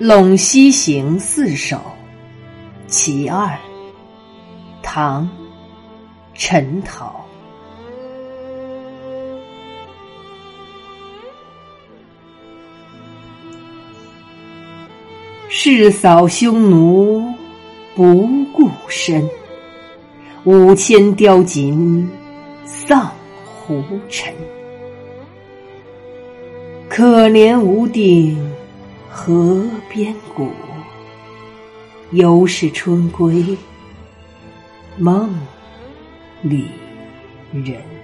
陇西行四首其二，唐·陈陶。誓扫匈奴不顾身，5000雕锦丧胡尘。可怜无定河边骨，犹是春归梦里人。